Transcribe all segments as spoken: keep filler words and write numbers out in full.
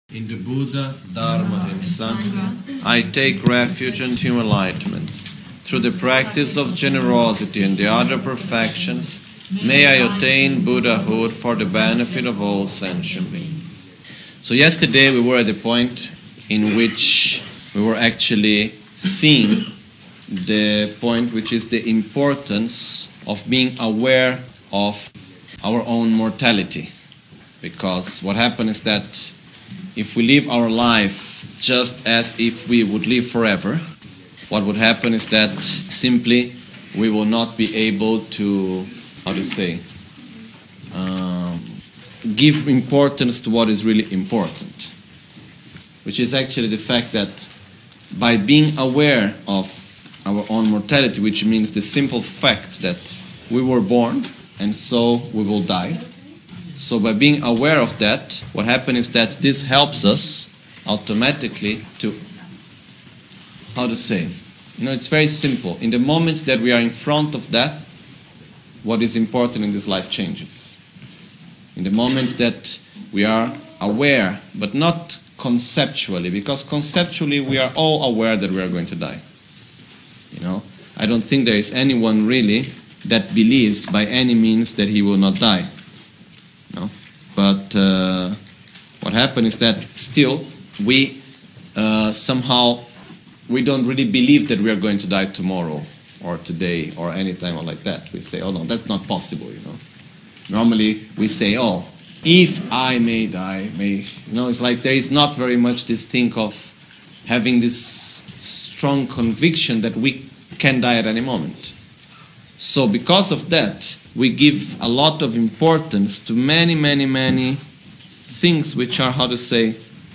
In the Buddha, Dharma and Sangha, I take refuge unto enlightenment. Through the practice of generosity and the other perfections, may I attain Buddhahood for the benefit of all sentient beings. So yesterday we were at the point in which we were actually seeing the point which is the importance of being aware of our own mortality. Because what happens is that if we live our life just as if we would live forever, what would happen is that simply we will not be able to, how to say, um, give importance to what is really important. Which is actually the fact that by being aware of our own mortality, which means the simple fact that we were born and so we will die. So by being aware of that, what happens is that this helps us automatically to, how to say, you know, it's very simple. In the moment that we are in front of death, what is important in this life changes. In the moment that we are aware, but not conceptually, because conceptually we are all aware that we are going to die. You know, I don't think there is anyone really that believes by any means that he will not die. No, but uh, what happened is that still we uh, somehow we don't really believe that we are going to die tomorrow or today or any time or like that. We say, oh no, that's not possible. You know, normally we say, oh, if I may die, may you know, it's like there is not very much this thing of having this strong conviction that we can die at any moment. So because of that, we give a lot of importance to many, many, many things which are, how to say,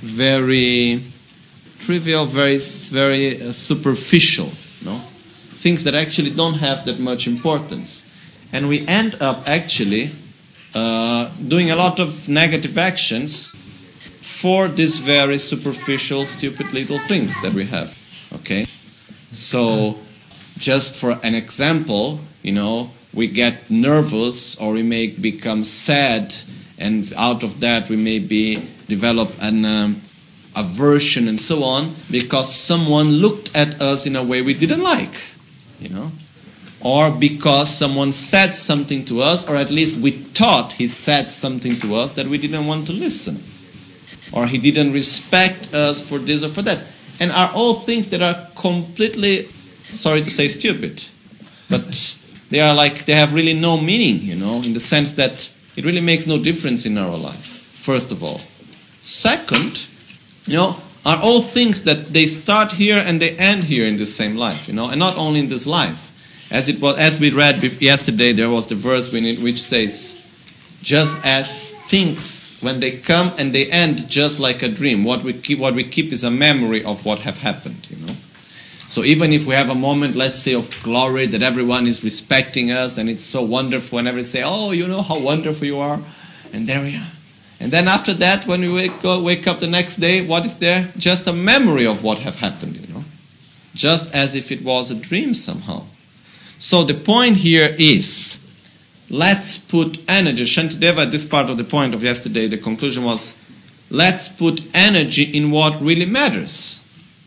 very trivial, very, very uh, superficial, no? Things that actually don't have that much importance. And we end up actually uh, doing a lot of negative actions for these very superficial, stupid little things that we have, okay? So, just for an example, you know, we get nervous or we may become sad, and out of that we may be develop an um, aversion and so on because someone looked at us in a way we didn't like, you know, or because someone said something to us, or at least we thought he said something to us that we didn't want to listen, or he didn't respect us for this or for that, and are all things that are completely, sorry to say, stupid, but they are like, they have really no meaning, you know, in the sense that it really makes no difference in our life, first of all. Second, you know, are all things that they start here and they end here in the same life, you know, and not only in this life. As it was, as we read yesterday, there was the verse which says, just as things, when they come and they end just like a dream, what we keep, what we keep is a memory of what have happened, you know. So even if we have a moment, let's say, of glory, that everyone is respecting us, and it's so wonderful, whenever we say, oh, you know how wonderful you are, and there we are. And then after that, when we wake up, wake up the next day, what is there? Just a memory of what have happened, you know. Just as if it was a dream somehow. So the point here is, let's put energy. Shantideva, this part of the point of yesterday, the conclusion was, let's put energy in what really matters.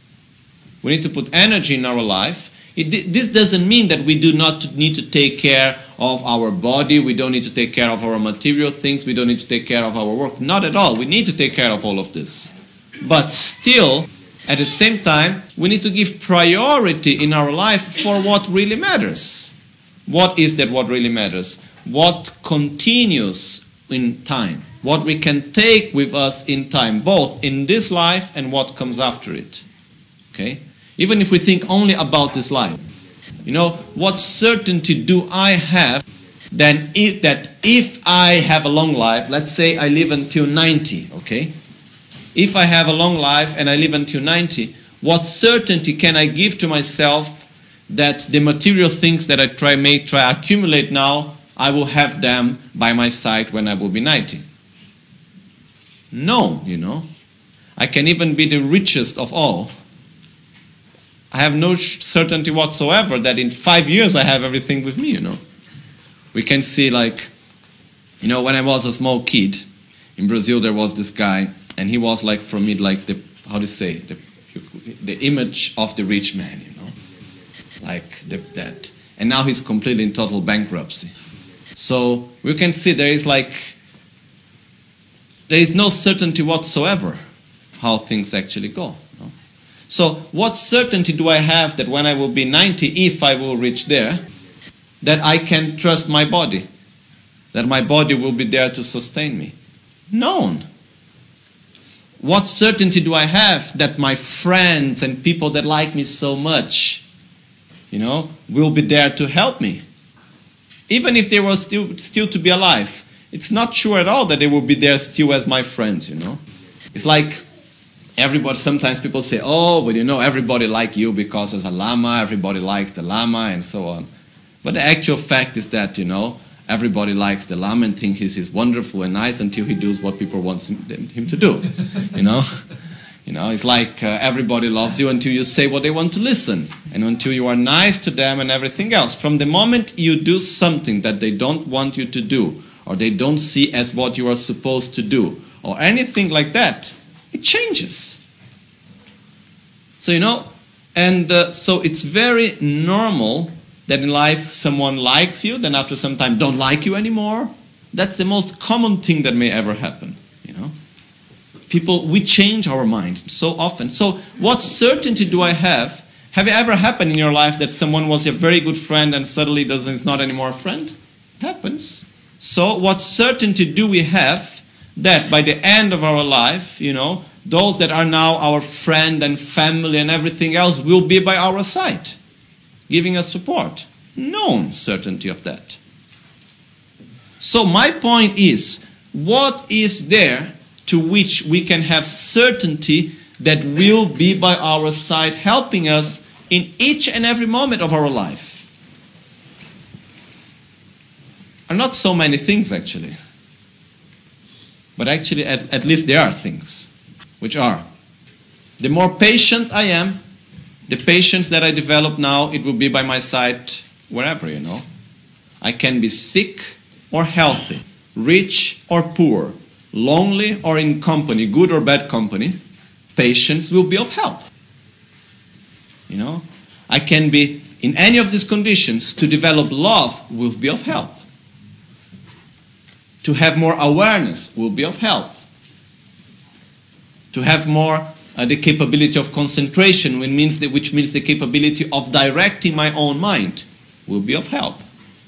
We need to put energy in our life. It, this doesn't mean that we do not need to take care of our body, we don't need to take care of our material things, we don't need to take care of our work. Not at all. We need to take care of all of this. But still, at the same time, we need to give priority in our life for what really matters. What is that what really matters? What continues in time. What we can take with us in time, both in this life and what comes after it. Okay? Even if we think only about this life. You know, what certainty do I have then if, that if I have a long life, let's say I live until ninety, okay? If I have a long life and I live until ninety, what certainty can I give to myself that the material things that I try may try accumulate now, I will have them by my side when I will be ninety? No, you know. I can even be the richest of all. I have no certainty whatsoever that in five years I have everything with me, you know. We can see, like, you know, when I was a small kid, in Brazil there was this guy, And he was like, for me, like the, how do you say, the, the image of the rich man, you know, like the, that. And now he's completely in total bankruptcy. So we can see there is like, there is no certainty whatsoever how things actually go. No? So what certainty do I have that when I will be ninety, if I will reach there, that I can trust my body, that my body will be there to sustain me? None. What certainty do I have that my friends and people that like me so much, you know, will be there to help me? Even if they were still, still to be alive, it's not sure at all that they will be there still as my friends, you know. It's like everybody, sometimes people say, oh, but you know, everybody like you because as a Lama, everybody likes the Lama and so on. But the actual fact is that, you know, everybody likes the Lama and thinks he's, he's wonderful and nice until he does what people want him, him to do, you know. You know, it's like uh, everybody loves you until you say what they want to listen and until you are nice to them and everything else. From the moment you do something that they don't want you to do or they don't see as what you are supposed to do or anything like that, it changes. So, you know, and uh, so it's very normal that in life someone likes you, then after some time don't like you anymore. That's the most common thing that may ever happen, you know. People, we change our mind so often. So what certainty do I have? Have it ever happened in your life that someone was a very good friend and suddenly doesn't, is not anymore a friend? It happens. So what certainty do we have that by the end of our life, you know, those that are now our friend and family and everything else will be by our side, giving us support? No certainty of that. So my point is, what is there to which we can have certainty that will be by our side helping us in each and every moment of our life? Are not so many things actually. But actually at, at least there are things, which are, the more patient I am, the patience that I develop now, it will be by my side wherever, you know. I can be sick or healthy, rich or poor, lonely or in company, good or bad company, patience will be of help. You know, I can be in any of these conditions. To develop love will be of help. To have more awareness will be of help. To have more uh, the capability of concentration, which means, the, which means the capability of directing my own mind, will be of help.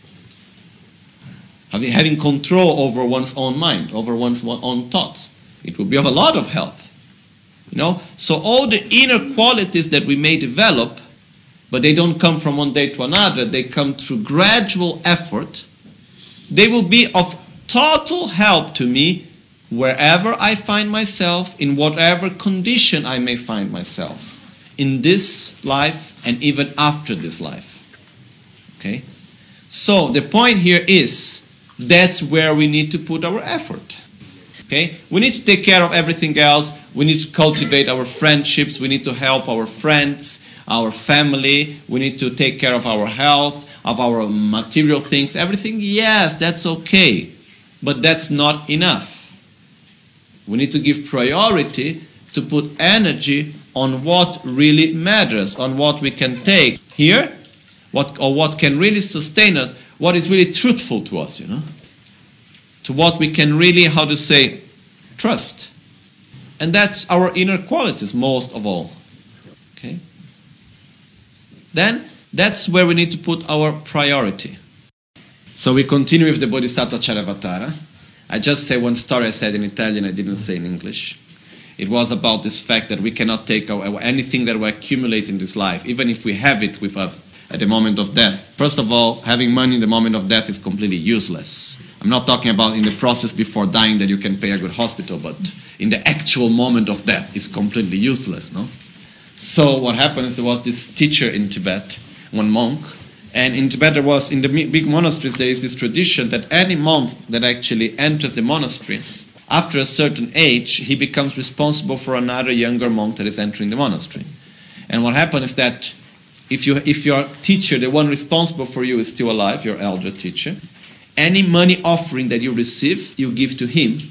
Having, having control over one's own mind, over one's own thoughts, it will be of a lot of help. You know, so all the inner qualities that we may develop, but they don't come from one day to another, they come through gradual effort, they will be of total help to me wherever I find myself, in whatever condition I may find myself, in this life and even after this life. Okay? So the point here is, that's where we need to put our effort. Okay? We need to take care of everything else. We need to cultivate our friendships. We need to help our friends, our family. We need to take care of our health, of our material things. Everything, yes, that's okay. But that's not enough. We need to give priority to put energy on what really matters, on what we can take here, what or what can really sustain us, what is really truthful to us, you know, to what we can really, how to say, trust. And that's our inner qualities most of all. Okay? Then, that's where we need to put our priority. So we continue with the Bodhisattva Charyavatara. I just say one story I said in Italian, I didn't say in English. It was about this fact that we cannot take our, anything that we accumulate in this life, even if we have it with us at the moment of death. First of all, having money in the moment of death is completely useless. I'm not talking about in the process before dying that you can pay a good hospital, but in the actual moment of death, it's completely useless, no? So what happened is there was this teacher in Tibet, one monk, and in Tibet there was, in the big monasteries, there is this tradition that any monk that actually enters the monastery, after a certain age, he becomes responsible for another younger monk that is entering the monastery. And what happened is that if you if your teacher, the one responsible for you, is still alive, your elder teacher, any money offering that you receive, you give to him,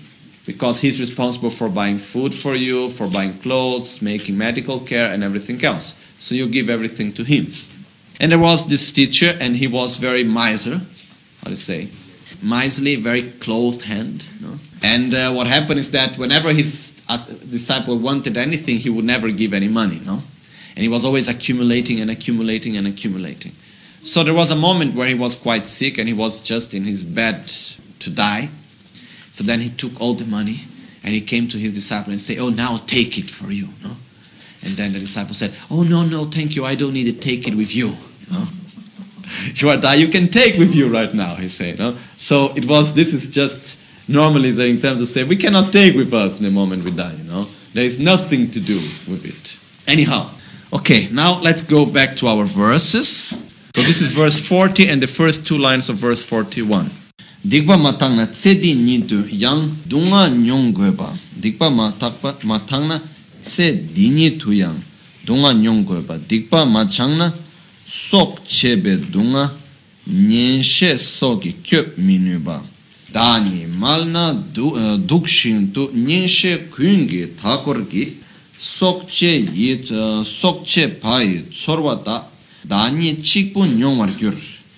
because he's responsible for buying food for you, for buying clothes, making medical care, and everything else. So you give everything to him. And there was this teacher, and he was very miser, how to say, miserly, very closed hand. You know? And uh, what happened is that whenever his uh, disciple wanted anything, he would never give any money. No? And he was always accumulating and accumulating and accumulating. So there was a moment where he was quite sick, and he was just in his bed to die. So then he took all the money, and he came to his disciple and said, "Oh, now take it for you." No? And then the disciple said, "Oh, no, no, thank you. I don't need to take it with you." No? You are dying, you can take with you right now, he said. No? So it was, this is just normally the example to say, we cannot take with us in the moment we die. You know? There is nothing to do with it. Anyhow, okay, now let's go back to our verses. So this is verse forty and the first two lines of verse forty-one. Dikpa matangna tsedi nidu yang dunga nyonggoeba. Dikpa matangna tsedi nidu yang dunga nyonggoeba. Dikpa machangna sok chebe dunga nyenshe soki kyop minuba. Dani malna dukshin tu nyenshe kuyungi takorgi sok che yit sok che pai tsorwata dani chikpu nyongwar gyur.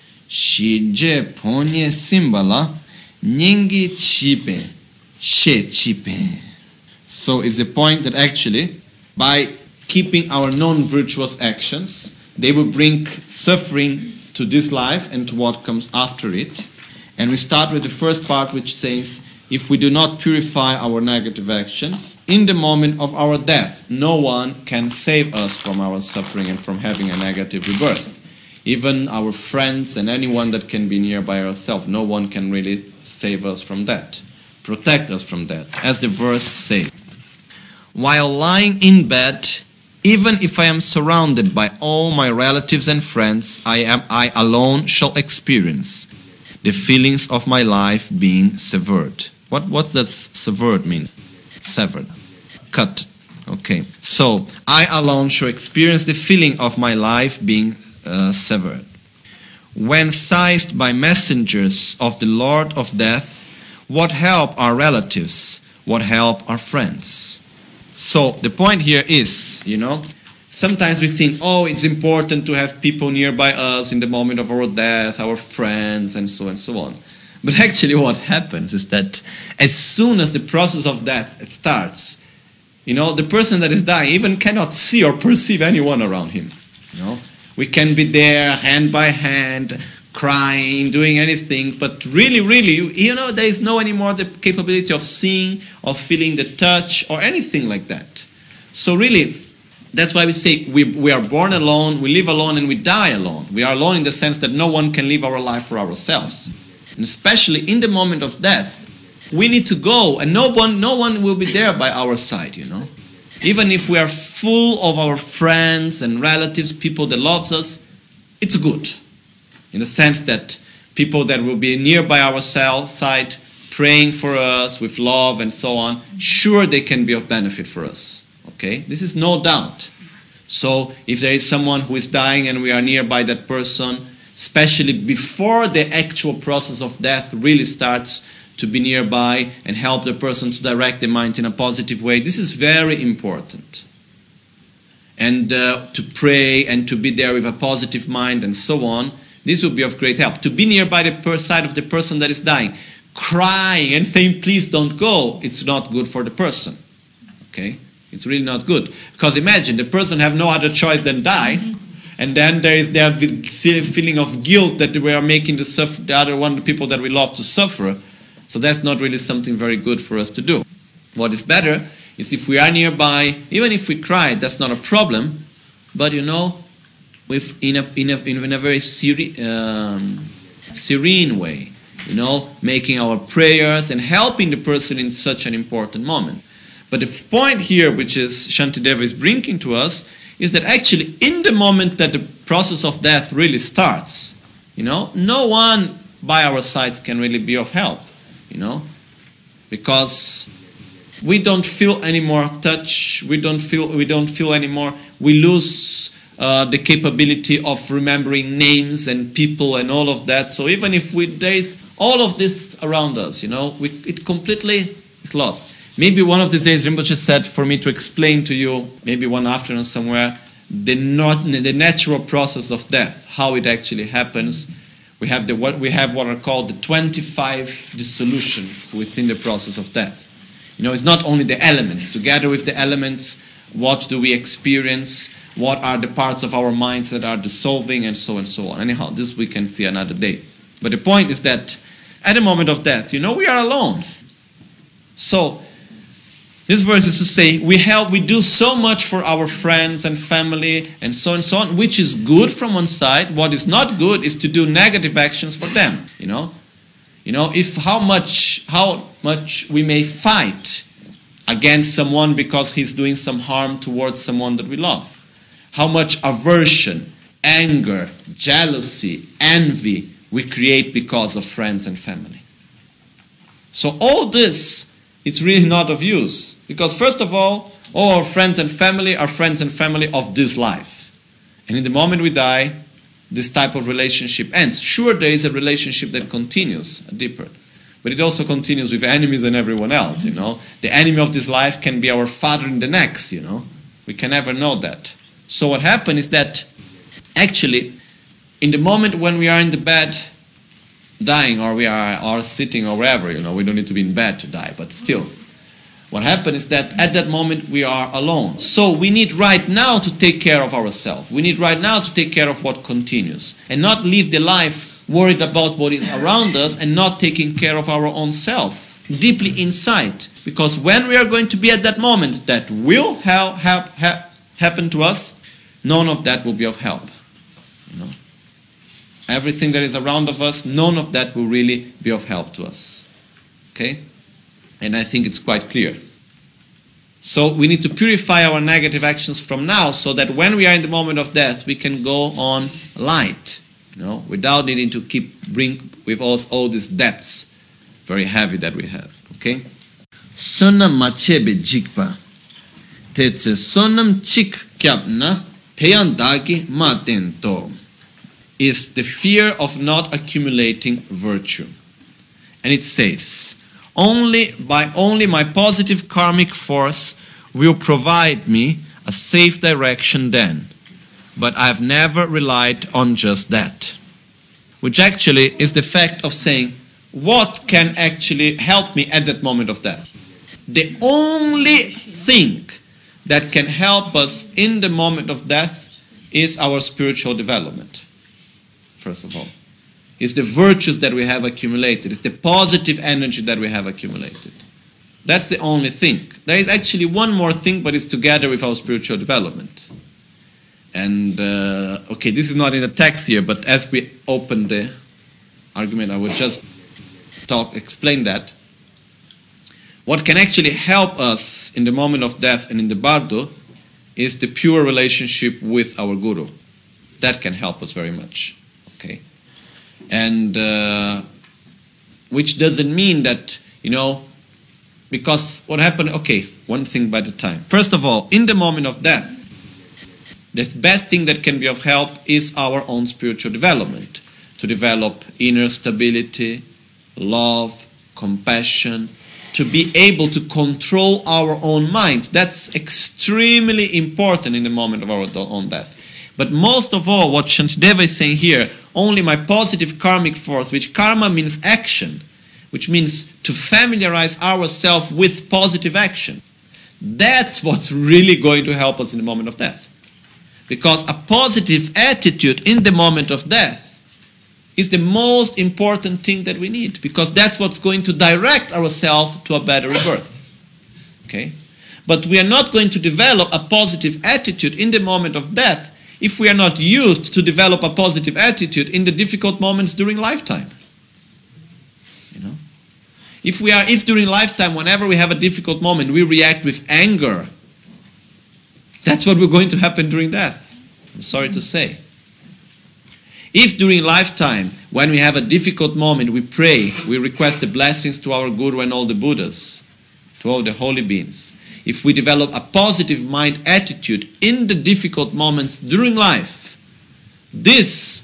Shije ponye simbala nyingi chipe she chipe. So is the point that actually by keeping our non-virtuous actions, they will bring suffering to this life and to what comes after it. And we start with the first part, which says, if we do not purify our negative actions, in the moment of our death, no one can save us from our suffering and from having a negative rebirth. Even our friends and anyone that can be nearby ourselves, no one can really save us from that, protect us from that. As the verse says, while lying in bed, even if I am surrounded by all my relatives and friends, I am I alone shall experience the feelings of my life being severed. What what does severed mean? Severed. Cut. Okay. So, I alone shall experience the feeling of my life being uh, severed. When seized by messengers of the Lord of death, what help our relatives? What help our friends? So the point here is, you know, sometimes we think, oh, it's important to have people nearby us in the moment of our death, our friends, and so and so on. But actually what happens is that as soon as the process of death starts, you know, the person that is dying even cannot see or perceive anyone around him. You know, we can be there hand by hand, crying, doing anything, but really, really, you know, there is no anymore the capability of seeing, of feeling the touch, or anything like that. So really, that's why we say we, we are born alone, we live alone, and we die alone. We are alone in the sense that no one can live our life for ourselves. And especially in the moment of death, we need to go, and no one, no one will be there by our side, you know. Even if we are full of our friends and relatives, people that loves us, it's good. In the sense that people that will be nearby our side, praying for us with love and so on, sure they can be of benefit for us. Okay? This is no doubt. So if there is someone who is dying and we are nearby that person, especially before the actual process of death really starts, to be nearby and help the person to direct the mind in a positive way, this is very important. And uh, to pray and to be there with a positive mind and so on, this will be of great help. To be nearby the per- side of the person that is dying, crying and saying, please don't go, it's not good for the person. Okay? It's really not good. Because imagine, the person have no other choice than die, and then there is their feeling of guilt that we are making the, suffer- the other one, the people that we love, to suffer. So that's not really something very good for us to do. What is better is if we are nearby, even if we cry, that's not a problem, but you know, with in a in a in a very seri- um, serene way, you know, making our prayers and helping the person in such an important moment. But the point here, which is Shantideva is bringing to us, is that actually in the moment that the process of death really starts, you know, no one by our sides can really be of help, you know, because we don't feel any more touch, we don't feel we don't feel anymore, we lose Uh, the capability of remembering names and people and all of that. So even if we, there is all of this around us, you know, we, it completely It's lost. Maybe one of these days Rinpoche said for me to explain to you, maybe one afternoon somewhere, the not the natural process of death, how it actually happens. We have the what we have what are called the twenty-five dissolutions within the process of death. You know, it's not only the elements. Together with the elements, what do we experience? What are the parts of our minds that are dissolving, and so and so on. Anyhow, this we can see another day. But the point is that at the moment of death, you know, we are alone. So this verse is to say we help, we do so much for our friends and family and so and so on, which is good from one side. What is not good is to do negative actions for them. You know, you know, if how much how much we may fight against someone because he's doing some harm towards someone that we love. How much aversion, anger, jealousy, envy we create because of friends and family. So all this, it's really not of use. Because first of all, all our friends and family are friends and family of this life. And in the moment we die, this type of relationship ends. Sure, there is a relationship that continues, deeper. But it also continues with enemies and everyone else, you know. The enemy of this life can be our father in the next, you know. We can never know that. So what happened is that actually, in the moment when we are in the bed dying, or we are, are sitting or wherever, you know, we don't need to be in bed to die, but still, what happened is that at that moment we are alone. So we need right now to take care of ourselves. We need right now to take care of what continues, and not live the life worried about what is around us and not taking care of our own self, deeply inside. Because when we are going to be at that moment that will ha- ha- ha- happen to us, none of that will be of help. You know, everything that is around of us, none of that will really be of help to us. Okay? And I think it's quite clear. So we need to purify our negative actions from now, so that when we are in the moment of death, we can go on light, you know, without needing to keep bring with us all these debts, very heavy that we have. Okay? Sonam machebe jikpa, tetse sonam chik kyapna, teyandagi matento, is the fear of not accumulating virtue. And it says, only by only my positive karmic force will provide me a safe direction then. But I've never relied on just that. Which actually is the fact of saying, what can actually help me at that moment of death? The only thing that can help us in the moment of death is our spiritual development. First of all, it's the virtues that we have accumulated. It's the positive energy that we have accumulated. That's the only thing. There is actually one more thing, but it's together with our spiritual development. And, uh, okay, this is not in the text here, but as we open the argument, I would just talk, explain that. What can actually help us in the moment of death and in the bardo is the pure relationship with our guru. That can help us very much. Okay, and uh, which doesn't mean that, you know, because what happened, okay, one thing by the time. First of all, in the moment of death, the best thing that can be of help is our own spiritual development. To develop inner stability, love, compassion, to be able to control our own mind. That's extremely important in the moment of our own death. But most of all, what Shantideva is saying here, only my positive karmic force, which karma means action, which means to familiarize ourselves with positive action. That's what's really going to help us in the moment of death. Because a positive attitude in the moment of death is the most important thing that we need. Because that's what's going to direct ourselves to a better rebirth. Okay? But we are not going to develop a positive attitude in the moment of death if we are not used to develop a positive attitude in the difficult moments during lifetime. You know? If we are, if during lifetime, whenever we have a difficult moment, we react with anger, that's what we're going to happen during death. I'm sorry to say. If during lifetime, when we have a difficult moment, we pray, we request the blessings to our Guru and all the Buddhas, to all the holy beings. If we develop a positive mind attitude in the difficult moments during life, this,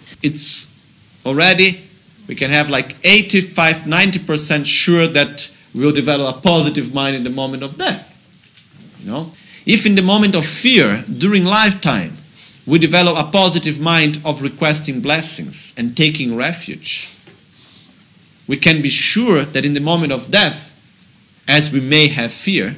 it's already, we can have like eighty-five, ninety percent sure that we will develop a positive mind in the moment of death. You know? If in the moment of fear, during lifetime, we develop a positive mind of requesting blessings and taking refuge, we can be sure that in the moment of death, as we may have fear,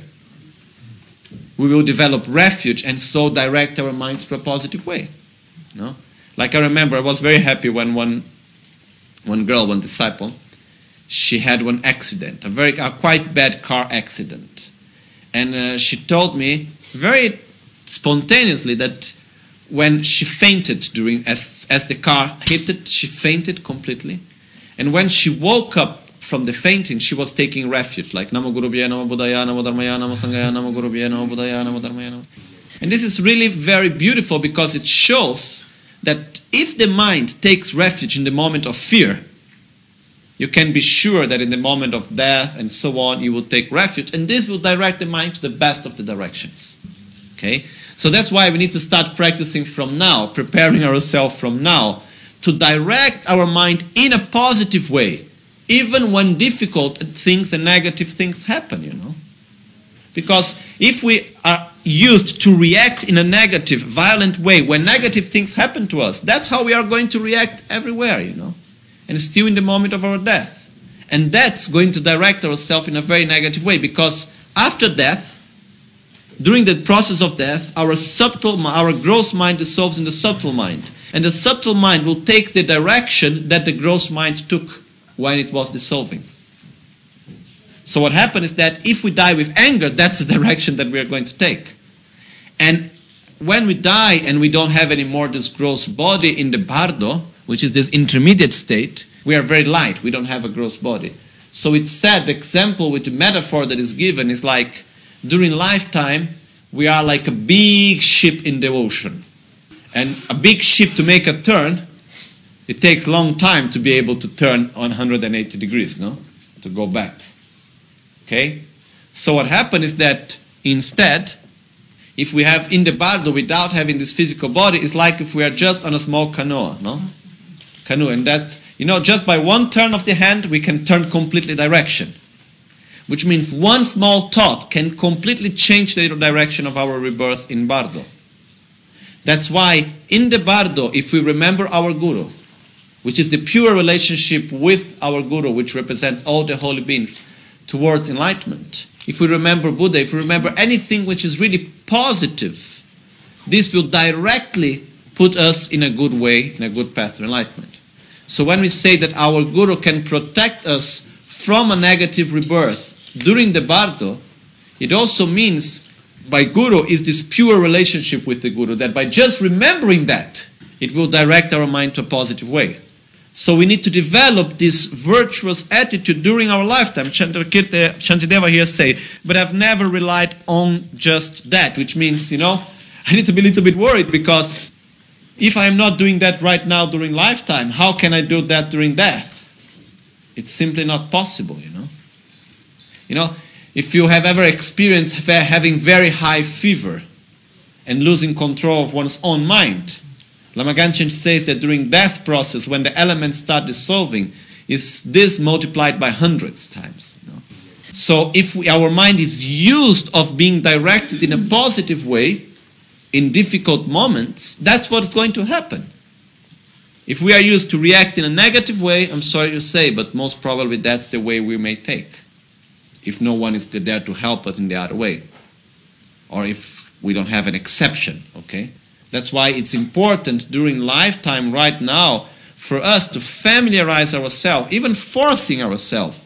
we will develop refuge and so direct our mind to a positive way. You know? Like I remember, I was very happy when one, one girl, one disciple, she had one accident, a very a quite bad car accident. And uh, she told me very spontaneously that when she fainted during, as, as the car hit it, she fainted completely. And when she woke up from the fainting, she was taking refuge, like Namo Guru Bhaya, Namo Buddhaya, Namo Dharmaya, Namo Sanghaya, Namo Guru Bhaya, Namo Buddhaya, Namo Dharmaya. Namo. And this is really very beautiful because it shows that if the mind takes refuge in the moment of fear, you can be sure that in the moment of death and so on, you will take refuge, and this will direct the mind to the best of the directions. Okay? So that's why we need to start practicing from now, preparing ourselves from now, to direct our mind in a positive way, even when difficult things and negative things happen, you know. Because if we are used to react in a negative, violent way, when negative things happen to us, that's how we are going to react everywhere, you know. And still in the moment of our death. And that's going to direct ourselves in a very negative way, because after death, during the process of death, our subtle, our gross mind dissolves in the subtle mind. And the subtle mind will take the direction that the gross mind took when it was dissolving. So what happens is that if we die with anger, that's the direction that we are going to take. And when we die and we don't have any more this gross body in the bardo, which is this intermediate state, we are very light, we don't have a gross body. So it's said, the example with the metaphor that is given is like, during lifetime, we are like a big ship in the ocean. And a big ship, to make a turn, it takes a long time to be able to turn on one hundred eighty degrees, no? To go back. Okay? So what happens is that instead, if we have in the bardo without having this physical body, it's like if we are just on a small canoe, no? Canoe. And that, you know, just by one turn of the hand, we can turn completely direction. Which means one small thought can completely change the direction of our rebirth in bardo. That's why in the bardo, if we remember our guru, which is the pure relationship with our guru, which represents all the holy beings towards enlightenment, if we remember Buddha, if we remember anything which is really positive, this will directly put us in a good way, in a good path to enlightenment. So when we say that our guru can protect us from a negative rebirth during the bardo, it also means by guru is this pure relationship with the guru, that by just remembering that, it will direct our mind to a positive way. So we need to develop this virtuous attitude during our lifetime. Shantideva here say, but I've never relied on just that, which means, you know, I need to be a little bit worried, because if I am not doing that right now during lifetime, how can I do that during death? It's simply not possible, you know. You know, if you have ever experienced having very high fever and losing control of one's own mind, Lama Ganchen says that during death process, when the elements start dissolving, is this multiplied by hundreds times. You know? So if we, our mind is used of being directed in a positive way in difficult moments, that's what's going to happen. If we are used to react in a negative way, I'm sorry to say, but most probably that's the way we may take, if no one is there to help us in the other way, or if we don't have an exception, okay? That's why it's important during lifetime right now for us to familiarize ourselves, even forcing ourselves,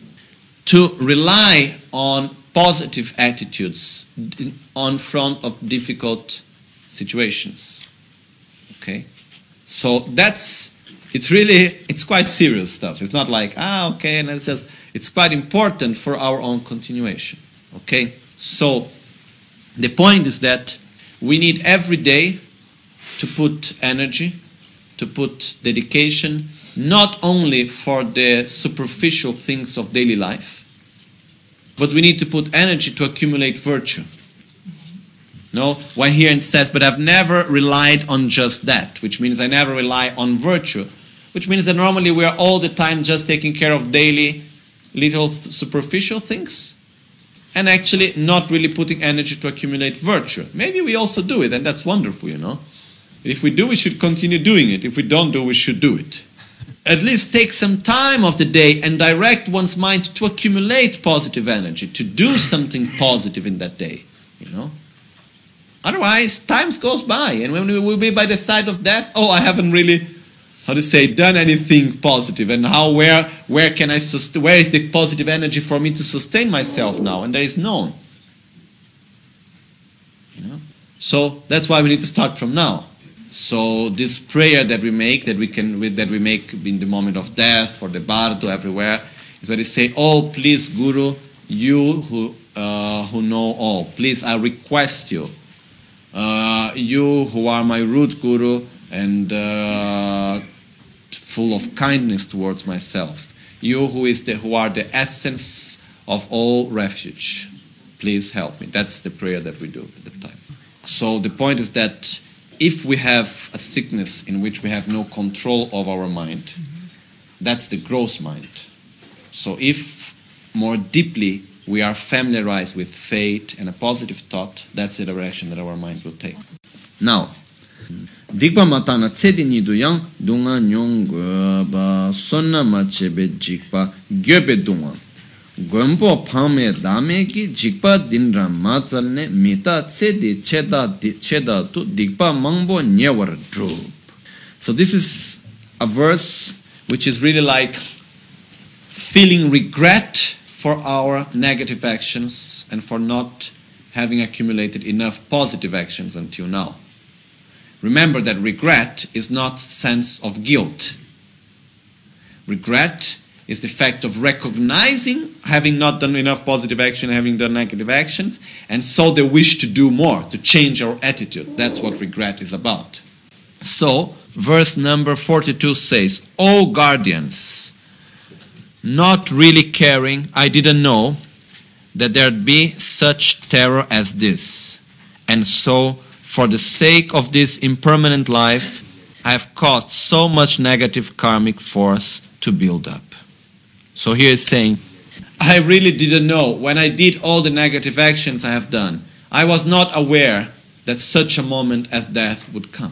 to rely on positive attitudes on front of difficult situations, okay? So that's, it's really, it's quite serious stuff. It's not like, ah, okay, and it's just, it's quite important for our own continuation, okay? So the point is that we need every day to put energy, to put dedication, not only for the superficial things of daily life, but we need to put energy to accumulate virtue. No, one here it says, but I've never relied on just that, which means I never rely on virtue, which means that normally we are all the time just taking care of daily little th- superficial things and actually not really putting energy to accumulate virtue. Maybe we also do it, and that's wonderful, you know. If we do, we should continue doing it. If we don't do, we should do it. At least take some time of the day and direct one's mind to accumulate positive energy, to do something positive in that day, you know. Otherwise, time goes by, and when we will be by the side of death, oh, I haven't really, how to say, done anything positive, and how, where, where can I, sust- where is the positive energy for me to sustain myself now? And there is none. You know? So that's why we need to start from now. So this prayer that we make, that we can, that we make in the moment of death, for the bardo everywhere, is where they say, oh, please, Guru, you who, uh, who know all, please, I request you, Uh, you who are my root guru and uh, full of kindness towards myself, you who is the who are the essence of all refuge, please help me. That's the prayer that we do at the time. So the point is that if we have a sickness in which we have no control of our mind, that's the gross mind. So if more deeply we are familiarized with faith and a positive thought, that's the direction that our mind will take. Now, Dikpa matana tsedi nidu yang dunga nyong ba sonna machebe jikpa gyobe dunga. Gompo pame dame ki jikpa dinra matsalne mita tsedi cheda cheda tu dikpa mangbo nyewar drup. So this is a verse which is really like feeling regret for our negative actions and for not having accumulated enough positive actions until now. Remember that regret is not sense of guilt. Regret is the fact of recognizing having not done enough positive action, having done negative actions, and so the wish to do more, to change our attitude. That's what regret is about. So, verse number forty-two says, O guardians, not really caring, I didn't know that there'd be such terror as this. And so, for the sake of this impermanent life, I have caused so much negative karmic force to build up. So here it's saying, I really didn't know. When I did all the negative actions I have done, I was not aware that such a moment as death would come.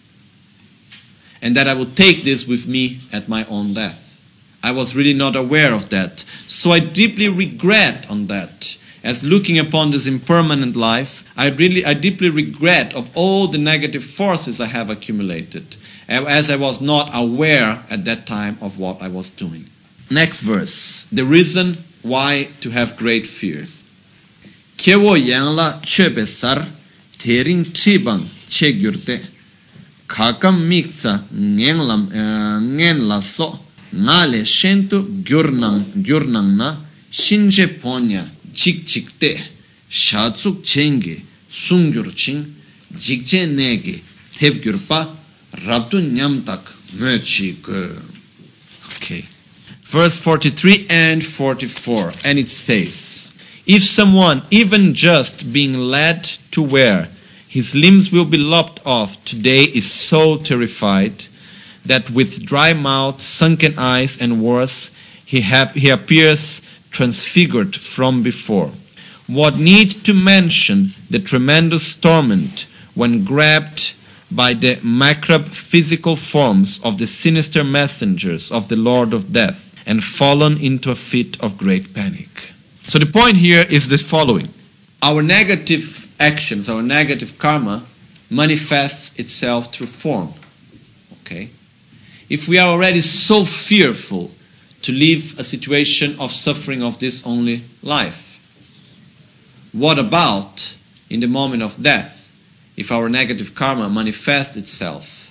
And that I would take this with me at my own death. I was really not aware of that. So I deeply regret on that. As looking upon this impermanent life, I really, I deeply regret of all the negative forces I have accumulated, as I was not aware at that time of what I was doing. Next verse. The reason why to have great fear. Kewo yangla chebe sar tering tribang chegyurte kakam miksa ngenglam ngen la so ngale shentu gyurnang gyurnang na shinje ponya chik chikte shatsuk chenge sungyur ching jikche nege tepgyurpa rabtu nyamtak mechi go. Okay. Verse forty-three and forty-four, and it says, if someone, even just being led to where his limbs will be lopped off today, is so terrified that with dry mouth, sunken eyes, and worse, he, ha- he appears transfigured from before. What need to mention the tremendous torment when grabbed by the macabre physical forms of the sinister messengers of the Lord of Death and fallen into a fit of great panic. So the point here is this following. Our negative actions, our negative karma, manifests itself through form. Okay? If we are already so fearful to live a situation of suffering of this only life, what about in the moment of death, if our negative karma manifests itself?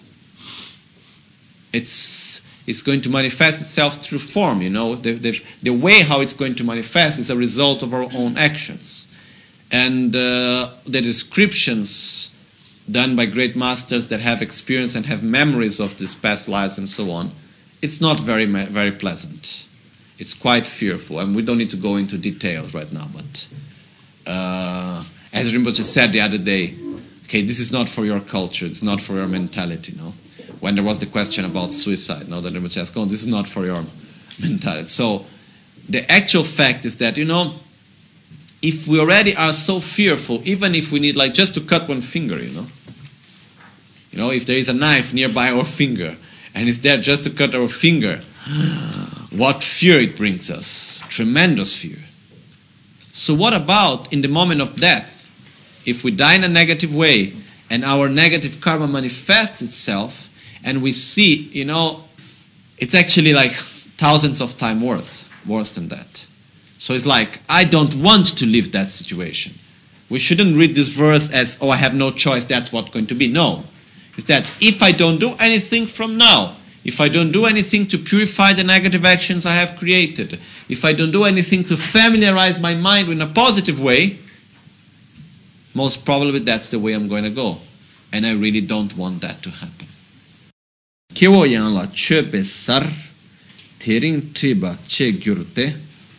It's, it's going to manifest itself through form, you know. The, the, the way how it's going to manifest is a result of our own actions. And uh, the descriptions done by great masters that have experience and have memories of these past lives and so on, it's not very very pleasant. It's quite fearful, and we don't need to go into details right now, but uh, as Rinpoche said the other day, okay, this is not for your culture, it's not for your mentality, no? When there was the question about suicide, no, that Rinpoche asked, oh, this is not for your mentality. So the actual fact is that, you know, if we already are so fearful, even if we need like just to cut one finger, you know, you know, if there is a knife nearby our finger and it's there just to cut our finger, what fear it brings us, tremendous fear. So what about in the moment of death, if we die in a negative way and our negative karma manifests itself and we see, you know, it's actually like thousands of times worse, worse than that. So it's like, I don't want to live that situation. We shouldn't read this verse as, oh, I have no choice, that's what's going to be. No. It's that if I don't do anything from now, if I don't do anything to purify the negative actions I have created, if I don't do anything to familiarize my mind in a positive way, most probably that's the way I'm going to go. And I really don't want that to happen. Kewo yang la chepe sar tering triba che gyurte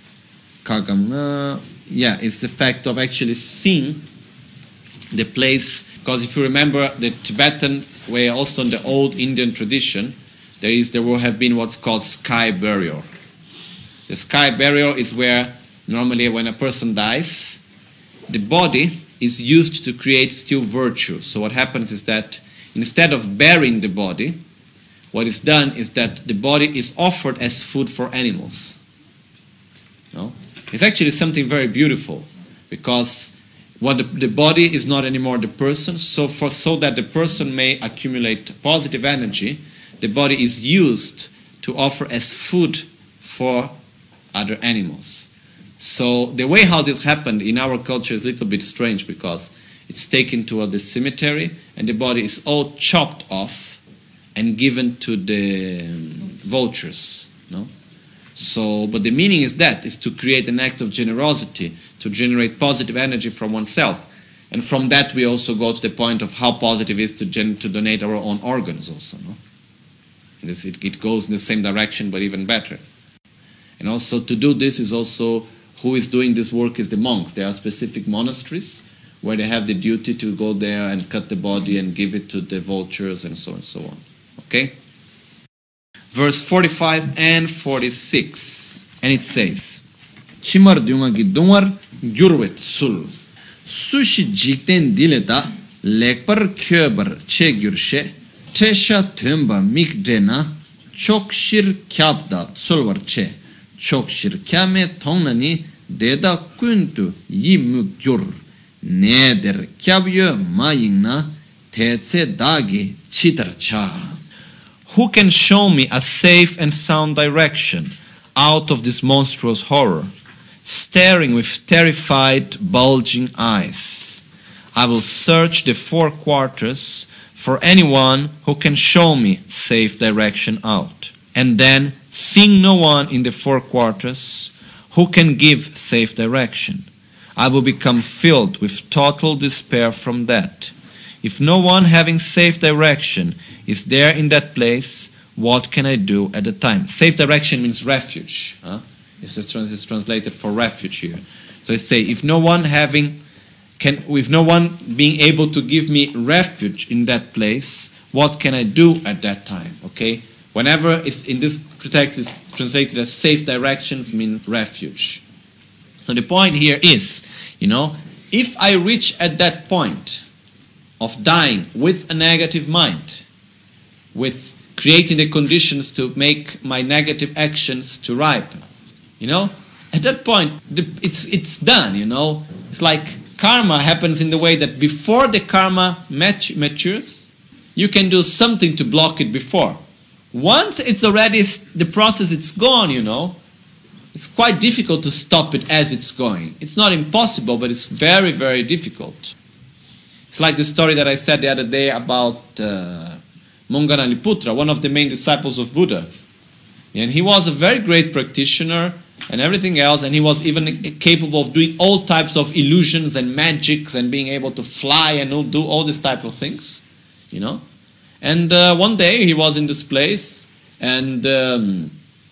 kagam. Yeah, it's the fact of actually seeing the place. Because if you remember the Tibetan way, also in the old Indian tradition, there is there will have been what's called sky burial. The sky burial is where normally when a person dies, the body is used to create still virtue. So what happens is that instead of burying the body, what is done is that the body is offered as food for animals. No? It's actually something very beautiful, because what the, the body is not anymore the person, so for so that the person may accumulate positive energy, the body is used to offer as food for other animals. So the way how this happened in our culture is a little bit strange, because it's taken to the cemetery and the body is all chopped off and given to the vultures. No? So, but the meaning is that, is to create an act of generosity, to generate positive energy from oneself. And from that we also go to the point of how positive it is to, gen- to donate our own organs also. No? This, it, it goes in the same direction, but even better. And also to do this is also, who is doing this work is the monks. There are specific monasteries where they have the duty to go there and cut the body and give it to the vultures and so on and so on. Okay? Verse forty-five and forty-six. And it says, Chimar dunga gi dungar gyurwet sul. Sushi jikten dileta lekpar kyobar che gyurshe. Tesha tumba mikdena chokshir kyabda sulwar che. Chokshir kyame tongnani deda kuntu yimuk gyur. Neder kyabyo mayingna tetse dagi chitarcha. who can show me a safe and sound direction out of this monstrous horror, staring with terrified, bulging eyes? I will search the four quarters for anyone who can show me safe direction out. And then, seeing no one in the four quarters who can give safe direction, I will become filled with total despair from that. If no one having safe direction is there in that place, what can I do at the time? Safe direction means refuge. Huh? It's, it's translated for refuge here. So I say, if no one having can, with no one being able to give me refuge in that place, what can I do at that time? Okay. Whenever it's in this text is translated as safe directions, mean refuge. So the point here is, you know, if I reach at that point of dying with a negative mind, with creating the conditions to make my negative actions to ripen, you know, at that point the, it's it's done. You know, it's like karma happens in the way that before the karma mat- matures, you can do something to block it before. Once it's already, the process, it's gone, you know, it's quite difficult to stop it as it's going. It's not impossible, but it's very, very difficult. It's like the story that I said the other day about uh, Monganaliputra, one of the main disciples of Buddha. And he was a very great practitioner and everything else, and he was even capable of doing all types of illusions and magics and being able to fly and do all these type of things, you know. And uh, one day he was in this place, and um,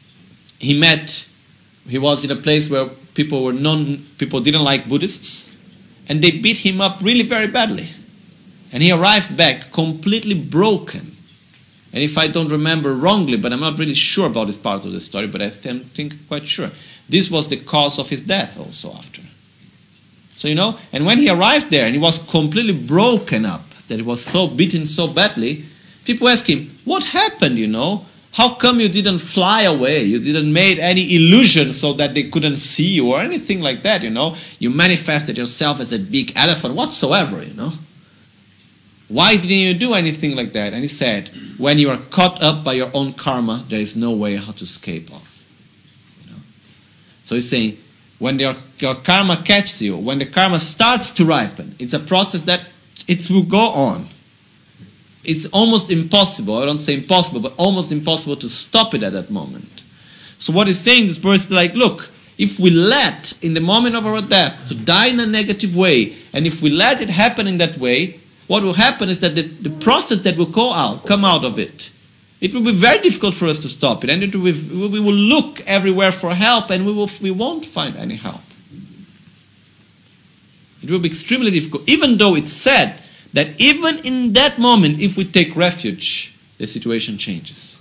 he met, he was in a place where people were non, people didn't like Buddhists, and they beat him up really very badly. And he arrived back completely broken. And if I don't remember wrongly, but I'm not really sure about this part of the story, but I th- think quite sure, this was the cause of his death also after. So, you know, and when he arrived there and he was completely broken up, that he was so beaten so badly, people asked him, what happened, you know? How come you didn't fly away? You didn't make any illusion so that they couldn't see you or anything like that, you know? You manifested yourself as a big elephant whatsoever, you know? Why didn't you do anything like that? And he said, when you are caught up by your own karma, there is no way how to escape off. You know? So he's saying, when your, your karma catches you, when the karma starts to ripen, it's a process that it will go on. It's almost impossible, I don't say impossible, but almost impossible to stop it at that moment. So what he's saying in this verse is like, look, if we let, in the moment of our death, to die in a negative way, and if we let it happen in that way, what will happen is that the, the process that will go out, come out of it, it will be very difficult for us to stop it, and it will be, we will look everywhere for help, and we will we won't find any help. It will be extremely difficult, even though it's said that even in that moment, if we take refuge, the situation changes.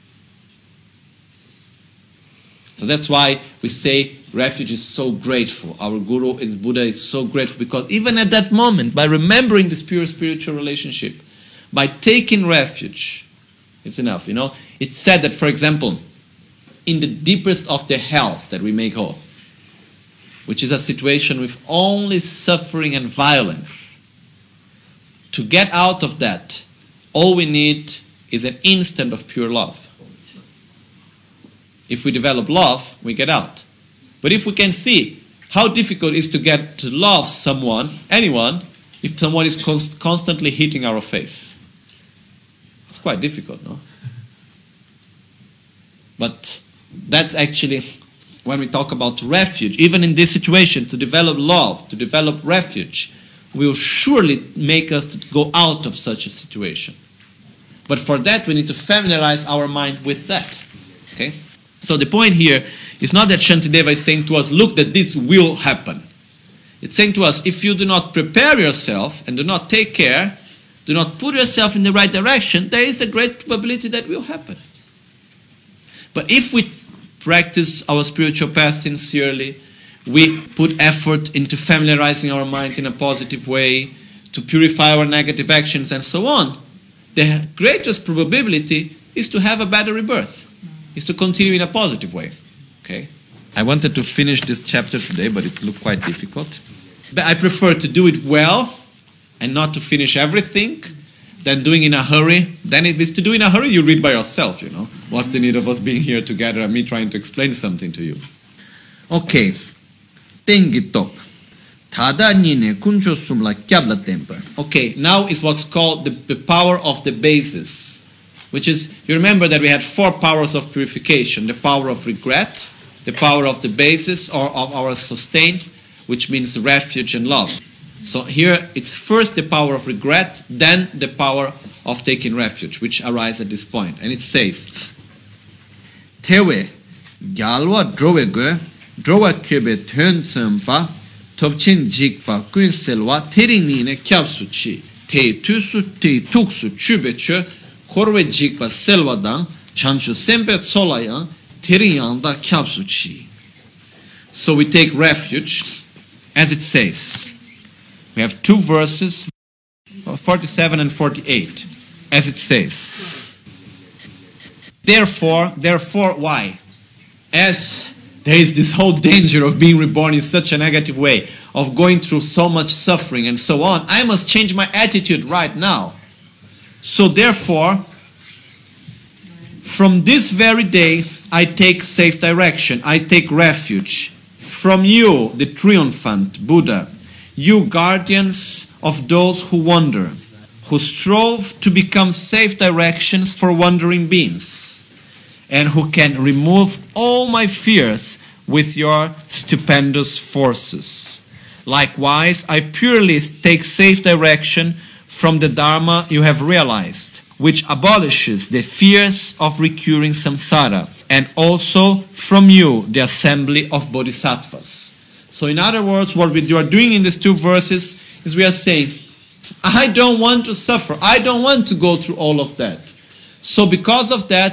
So that's why we say refuge is so grateful. Our Guru, is Buddha, is so grateful because even at that moment, by remembering this pure spiritual relationship, by taking refuge, it's enough. You know, it's said that, for example, in the deepest of the hells that we may go, which is a situation with only suffering and violence, to get out of that, all we need is an instant of pure love. If we develop love, we get out. But if we can see how difficult it is to get to love someone, anyone, if someone is const- constantly hitting our face, it's quite difficult, no? But that's actually, when we talk about refuge, even in this situation, to develop love, to develop refuge, will surely make us to go out of such a situation. But for that, we need to familiarize our mind with that. Okay? So the point here is not that Shantideva is saying to us, look, that this will happen. It's saying to us, if you do not prepare yourself and do not take care, do not put yourself in the right direction, there is a great probability that will happen. But if we practice our spiritual path sincerely, we put effort into familiarizing our mind in a positive way, to purify our negative actions and so on, the greatest probability is to have a better rebirth, is to continue in a positive way. Okay? I wanted to finish this chapter today, but it looked quite difficult. But I prefer to do it well and not to finish everything than doing in a hurry. Then if it's to do in a hurry, you read by yourself, you know. What's the need of us being here together and me trying to explain something to you? Okay. Tengi top. Okay, now is what's called the, the power of the basis, which is, you remember that we had four powers of purification: the power of regret, the power of the basis, or of our sustain, which means refuge and love. So here it's first the power of regret, then the power of taking refuge, which arises at this point. And it says, Tewe gyalwa drowe go drowa kebe tön sempa topchin jikpa kuin selwa terini ne kyapsu chi te tusu te tuksu chubeche korwe jikpa selwa dang chanchu sempe solaya terinyanda kyapsu chi. So we take refuge, as it says. We have two verses, forty-seven and forty-eight, as it says. Therefore, therefore, why? As there is this whole danger of being reborn in such a negative way, of going through so much suffering and so on, I must change my attitude right now. So therefore, from this very day, I take safe direction, I take refuge. From you, the triumphant Buddha, you guardians of those who wander, who strove to become safe directions for wandering beings, and who can remove all my fears with your stupendous forces. Likewise, I purely take safe direction from the Dharma you have realized, which abolishes the fears of recurring samsara, and also from you, the assembly of bodhisattvas. So in other words, what we are doing in these two verses is we are saying, I don't want to suffer. I don't want to go through all of that. So because of that,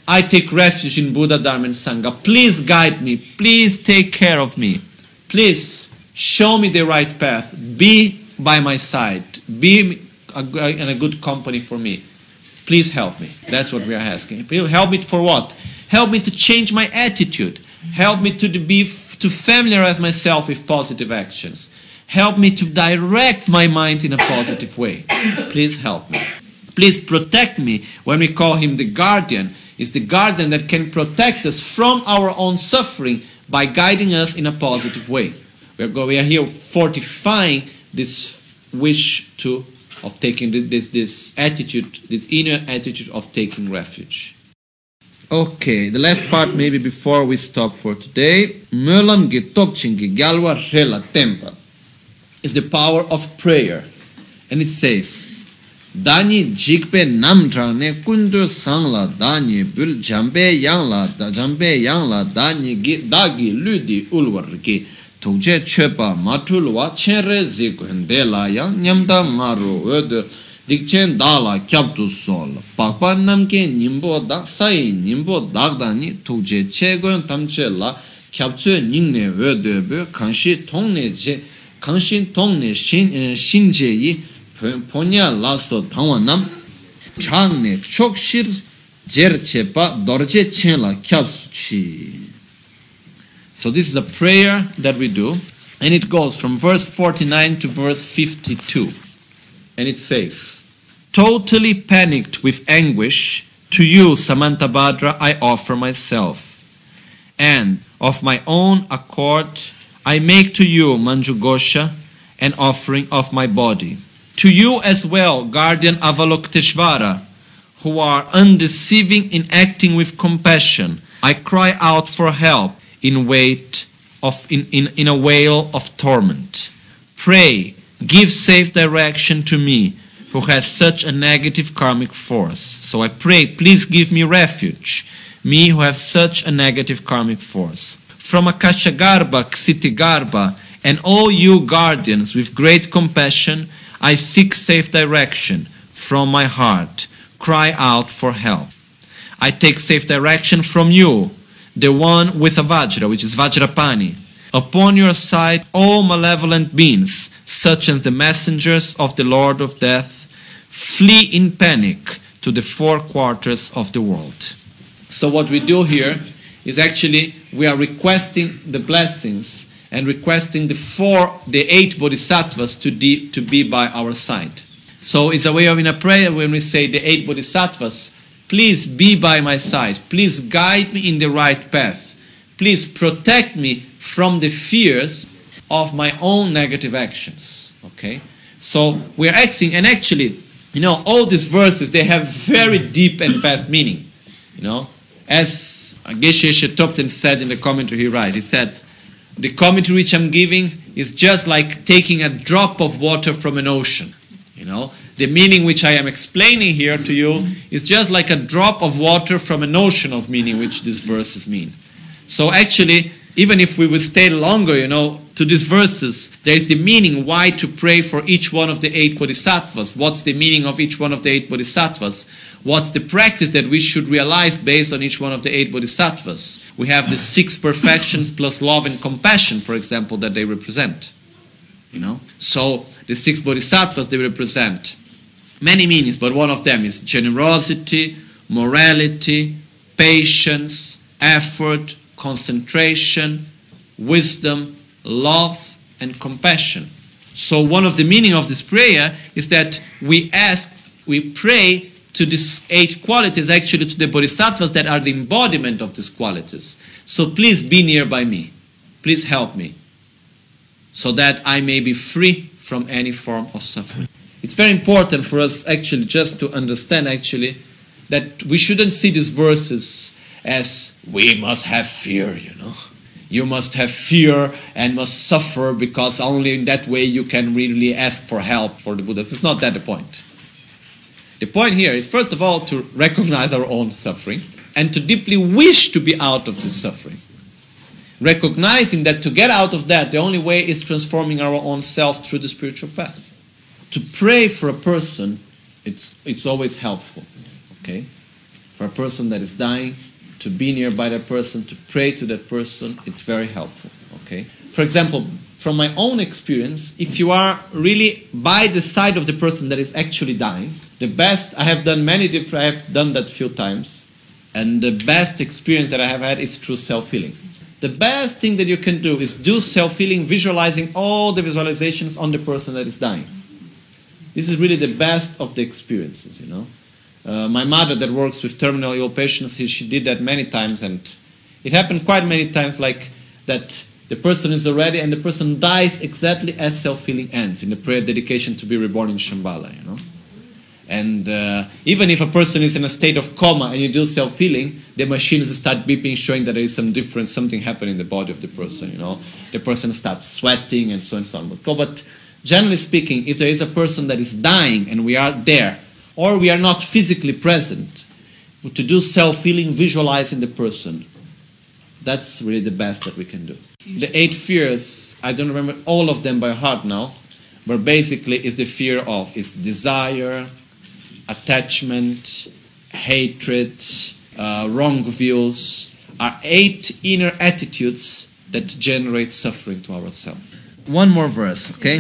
I take refuge in Buddha, Dharma, and Sangha. Please guide me. Please take care of me. Please show me the right path. Be by my side. Be a, in a good company for me. Please help me. That's what we are asking. Help me for what? Help me to change my attitude. Help me to be to familiarize myself with positive actions. Help me to direct my mind in a positive way. Please help me. Please protect me. When we call him the guardian, it's the guardian that can protect us from our own suffering by guiding us in a positive way. We are, go, we are here fortifying this wish to of taking this this attitude, this inner attitude of taking refuge. Okay, the last part maybe before we stop for today. Mölam ge topchin ge galwa rela tempa is the power of prayer. And it says, Dani jikpe namdra ne kundu sangla dani bul jambe yangla da jambe yangla dani gi dagi ludi ulwar ge tuje chepa matulwa chere zikundela yang nyamda maru öde dikchen dala kyaptu sol pakpa namke nimbo da sai nimbo dagdani tuje chegon tamchela kyapchu ningne öde be kanshi tongne je kanshin tongne shin shinje yi ponya laso tangwanam changne chokshir jerchepa dorje chenla kyapsuchi. So this is a prayer that we do, and it goes from verse forty-nine to verse fifty-two. And it says, totally panicked with anguish, to you, Samantabhadra, I offer myself. And of my own accord, I make to you, Manjughosha, an offering of my body. To you as well, guardian Avalokiteshvara, who are undeceiving in acting with compassion, I cry out for help in wait of in, in, in a wail of torment. Pray, give safe direction to me, who has such a negative karmic force. So I pray, please give me refuge, me who have such a negative karmic force. From Akashagarbha, Ksitigarbha, and all you guardians with great compassion, I seek safe direction from my heart, cry out for help. I take safe direction from you, the one with a Vajra, which is Vajrapani. Upon your side, all malevolent beings, such as the messengers of the Lord of Death, flee in panic to the four quarters of the world. So what we do here is actually we are requesting the blessings and requesting the four, the eight bodhisattvas to, de, to be by our side. So it's a way of in a prayer when we say the eight bodhisattvas, please be by my side. Please guide me in the right path. Please protect me from the fears of my own negative actions. Okay? So we're acting, and actually, you know, all these verses, they have very deep and vast meaning. You know, as Geshe Shetopten said in the commentary he writes, he says, the commentary which I'm giving is just like taking a drop of water from an ocean. You know, the meaning which I am explaining here to you is just like a drop of water from an ocean of meaning which these verses mean. So actually, even if we would stay longer, you know, to these verses, there is the meaning why to pray for each one of the eight bodhisattvas. What's the meaning of each one of the eight bodhisattvas? What's the practice that we should realize based on each one of the eight bodhisattvas? We have the six perfections plus love and compassion, for example, that they represent. You know, so the six bodhisattvas, they represent many meanings, but one of them is generosity, morality, patience, effort, concentration, wisdom, love, and compassion. So one of the meaning of this prayer is that we ask, we pray to these eight qualities, actually to the bodhisattvas that are the embodiment of these qualities. So please be near by me. Please help me, so that I may be free from any form of suffering. It's very important for us actually just to understand actually that we shouldn't see these verses as we must have fear, you know. You must have fear and must suffer because only in that way you can really ask for help for the Buddhas. It's not that the point. The point here is first of all to recognize our own suffering and to deeply wish to be out of this suffering. Recognizing that to get out of that, the only way is transforming our own self through the spiritual path. To pray for a person, it's it's always helpful. Okay? For for a person that is dying, to be nearby that person, to pray to that person, it's very helpful. Okay. For example, from my own experience, if you are really by the side of the person that is actually dying, the best, I have done many different, I have done that few times, and the best experience that I have had is through self-healing. The best thing that you can do is do self-healing, visualizing all the visualizations on the person that is dying. This is really the best of the experiences, you know. Uh, my mother that works with terminally ill patients, she, she did that many times, and it happened quite many times like that the person is already, and the person dies exactly as self-healing ends, in the prayer dedication to be reborn in Shambhala, you know. And uh, even if a person is in a state of coma and you do self-healing, the machines start beeping, showing that there is some difference, something happening in the body of the person, you know. The person starts sweating and so on and so on. But, but generally speaking, if there is a person that is dying and we are there, or we are not physically present, to do self-healing, visualizing the person, that's really the best that we can do. The eight fears, I don't remember all of them by heart now, but basically it's the fear of is desire, attachment, hatred, uh, wrong views, are eight inner attitudes that generate suffering to ourselves. One more verse, okay?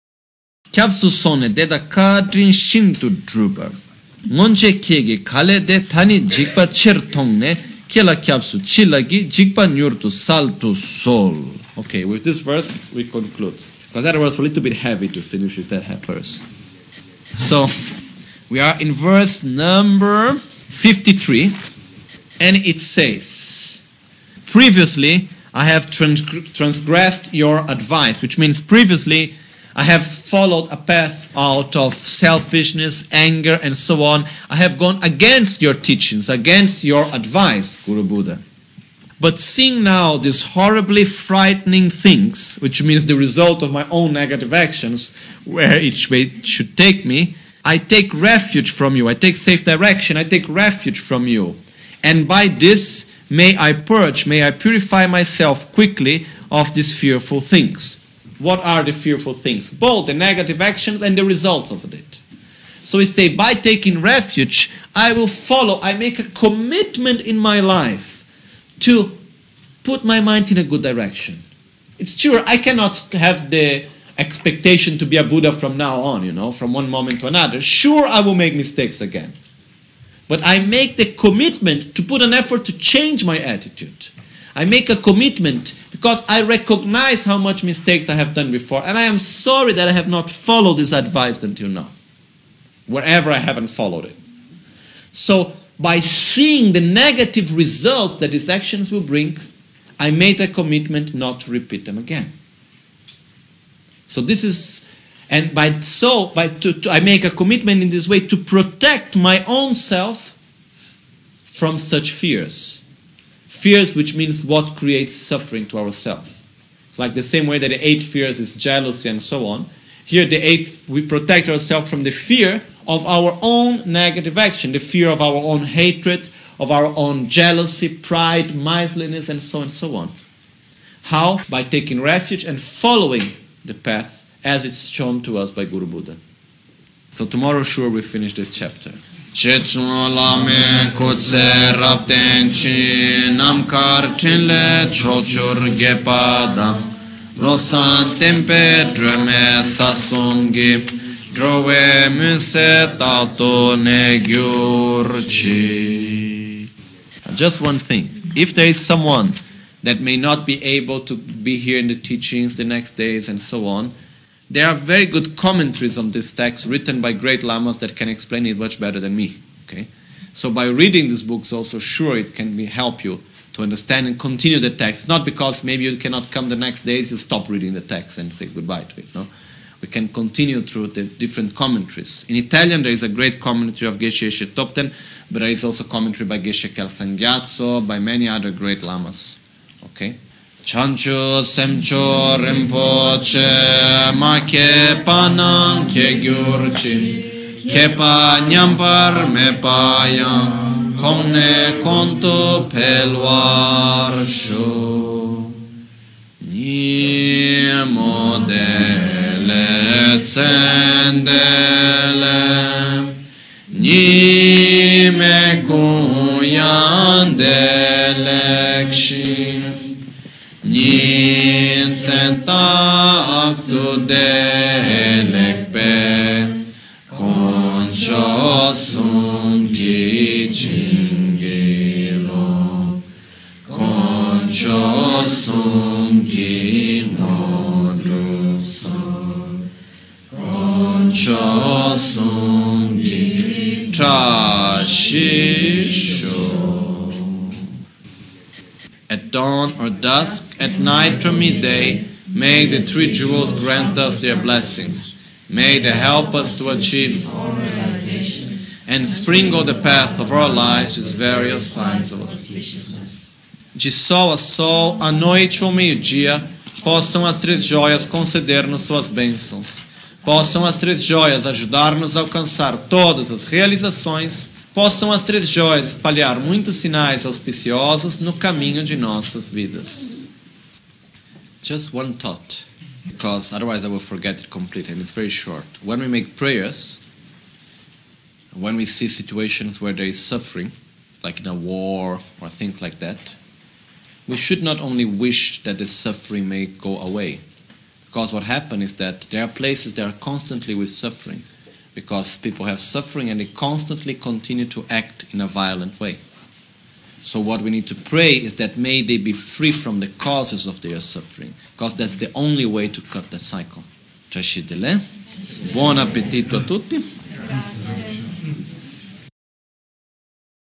Kyapsu sone deda kadrin shintu druba. Ngonche kegi kale de tani jikpa cher tongne kela kyapsu chilagi jikpa nyurtu saltu sol. Okay, with this verse we conclude. Because that was a little bit heavy to finish with that verse. So, we are in verse number fifty-three, and it says, previously I have trans- transgressed your advice, which means previously I have followed a path out of selfishness, anger, and so on. I have gone against your teachings, against your advice, Guru Buddha. But seeing now these horribly frightening things, which means the result of my own negative actions, where each way should take me, I take refuge from you. I take safe direction. I take refuge from you. And by this, may I purge, may I purify myself quickly of these fearful things. What are the fearful things? Both the negative actions and the results of it. So we say, by taking refuge, I will follow, I make a commitment in my life to put my mind in a good direction. It's true, I cannot have the expectation to be a Buddha from now on, you know, from one moment to another. Sure, I will make mistakes again. But I make the commitment to put an effort to change my attitude. I make a commitment because I recognize how much mistakes I have done before, and I am sorry that I have not followed this advice until now, wherever I haven't followed it. So, by seeing the negative results that these actions will bring, I made a commitment not to repeat them again. So this is, and by so, by to, to, I make a commitment in this way to protect my own self from such fears. Fears, which means what creates suffering to ourselves. It's like the same way that the eight fears is jealousy and so on. Here the eighth, we protect ourselves from the fear of our own negative action, the fear of our own hatred, of our own jealousy, pride, miserliness, and so on and so on. How? By taking refuge and following the path as it's shown to us by Guru Buddha. So tomorrow, sure, we finish this chapter. Chetsun lame kutse rapten chi namkar chinle chochur gepada losan tempe dreme sasungi drove muse tato negyurchi. Just one thing. If there is someone that may not be able to be here in the teachings the next days and so on, there are very good commentaries on this text written by great lamas that can explain it much better than me. Okay, so by reading these books also, sure, it can be, help you to understand and continue the text. Not because maybe you cannot come the next days, you stop reading the text and say goodbye to it. No, we can continue through the different commentaries. In Italian, there is a great commentary of Geshe Eshe Topten, but there is also commentary by Geshe Kelsang-Gyatso, by many other great lamas. Okay. Chancho semcho rinpoche ma ke panang ke gyurchi ke pa nyampar me payang komne konto pelwar sho ni modele tsendele ni me kun delekpe koncho sum ki chingelo koncho sum ki modruso koncho sum ki trashisho. At dawn or dusk, at night or midday, may the three jewels grant us their blessings. May they help us to achieve and sprinkle the path of our lives with various signs of auspiciousness. De sol a sol, à noite ou ao meio-dia, possam as três joias conceder-nos suas bênçãos. Possam as três joias ajudar-nos a alcançar todas as realizações. Possam as três joias espalhar muitos sinais auspiciosos no caminho de nossas vidas. Just one thought, because otherwise I will forget it completely, and it's very short. When we make prayers, when we see situations where there is suffering, like in a war or things like that, we should not only wish that the suffering may go away, because what happens is that there are places that are constantly with suffering, because people have suffering and they constantly continue to act in a violent way. So what we need to pray is that may they be free from the causes of their suffering, because that's the only way to cut the cycle. Buon appetito a tutti.